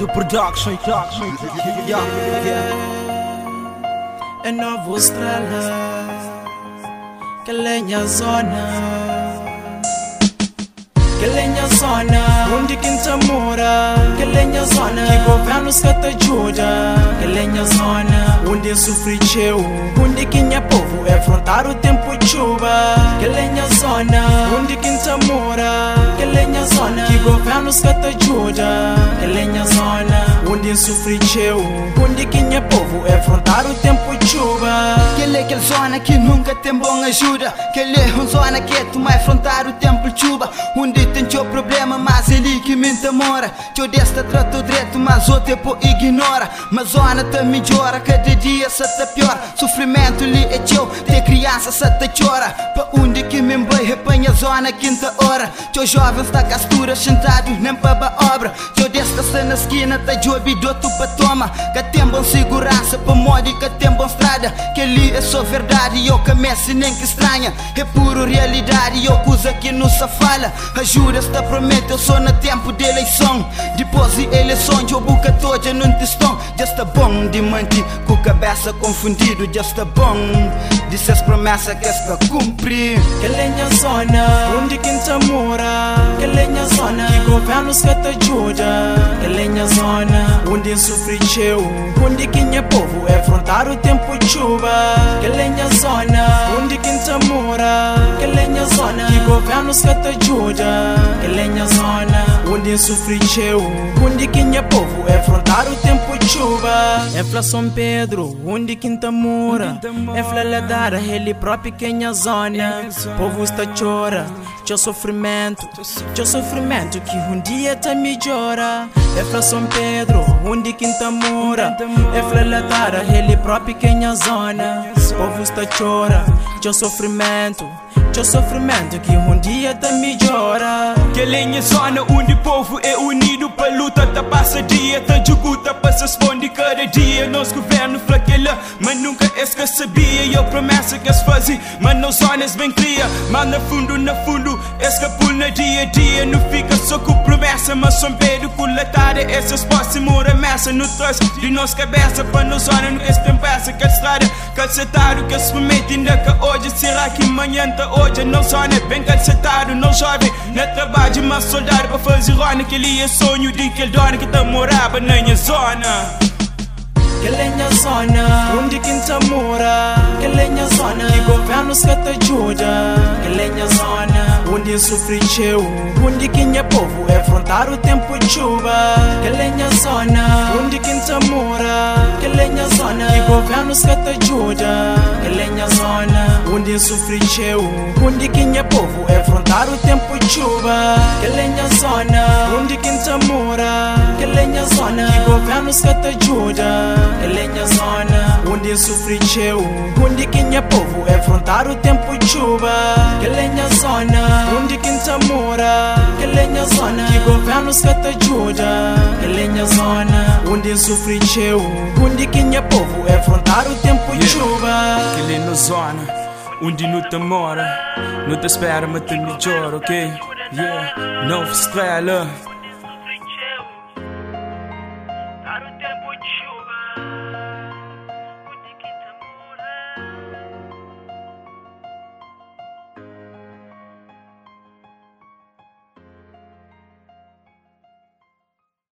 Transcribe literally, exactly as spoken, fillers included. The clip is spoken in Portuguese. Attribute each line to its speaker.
Speaker 1: do production, production. Yeah, yeah.
Speaker 2: É novo estrela, que lenha zona, que lenha zona, onde quem te mora, que lenha zona, que governos que te ajuda, que lenha zona, onde sofre teu, onde quem é povo é afrontar o tempo de chuva, que lenha zona, onde quem te mora, que lenha zona, que governos que te ajuda, que lenha zona, onde sofre teu, onde quem é povo é afrontar o tempo de chuva.
Speaker 3: Aquele é aquela zona que nunca tem bom ajuda, aquele é uma zona que tu vai afrontar o tempo de chuva, onde tem teu problema, mas ele que me mora. Teu desta trato direito, mas o tempo ignora. Mas zona te melhora, cada dia se te pior. Sofrimento ali é teu, ter criança se te chora. Pa onde que me vai, repanha zona quinta hora. Teu jovem está castura, sentado, nem para a obra. Teu desta se na esquina, tá jobi do tu pa toma. Que tem bom segurança, pa mode, que tem bom estrada. Que ali é só verdade, eu comece nem que estranha. É puro realidade, eu coisa que não se fala. Ajuda te prometo, eu sou no tempo de eleição. Depois de eleição, eu boca toda num testão. Já está bom de mentir, com cabeça confundido. Já está bom de ser promessas que está cumprir.
Speaker 2: Que lenha zona, onde quem te mora, que lenha zona, que governos que te ajuda, que lenha zona, onde sofre teu, onde quem é povo é afrontar o tempo de chuva, que lenha zona, onde quem te mora, que lenha zona, que governos que te ajuda, que lenha zona, onde sofre teu, onde quem é povo é afrontar o tempo de chuva. É Fla São Pedro, onde quem te mora, é Fla Ladara, ele próprio quem é zona, povo está chora, teu sofrimento, teu sofrimento que um dia te melhora. É Fla São Pedro, onde quem te mora, é Fla Ladara, ele próprio quem é zona, povo está chora, teu sofrimento, teu sofrimento que um dia te melhora.
Speaker 4: Que lenha zona onde o povo é unido para luta, tá passa dia, tá juguta para se esconde cada dia. Nosso governo fraquela, mas nunca esque sabia. E eu promessa que se fazia, mas não zonas bem cria. Mas no fundo, no fundo, esque por na dia a dia. Não fica só com promessa, mas São Pedro com latada. Essas próximas remessa no troço de nossa cabeça. Para nos zona no que se tem peça, que estrada, calcetado, que se promete ainda que hoje. Será que amanhã tá hoje? Não zona bem calcetado, não jovem, não trabalho, mas soldado para fazer rona. Que ele é sonho de que ele dona que tá morava na minha zona.
Speaker 2: Que lenha zona, onde quem te mora, que lenha zona, que governos que te ajuda, que lenha zona, onde sofre teu, onde quem é povo é afrontar o tempo de chuva, que lenha zona, onde quem te mora, que lenha zona, que governos que te ajuda, que lenha zona, onde sofre teu, onde quem é povo é afrontar o tempo de chuva, que lenha zona, onde quem te mora, que lenha zona, que governos que te ajuda, que lenha zona, onde sofre teu, onde quem é povo é afrontar o tempo de chuva, que lenha zona, onde quem te mora, que lenha zona, que governos que te ajuda, que lenha zona, onde sofre teu, onde quem é povo é afrontar o tempo de chuva.
Speaker 4: Que lenha zona, onde não te mora, não te espera, mas te melhora, ok? Yeah, nova estrela.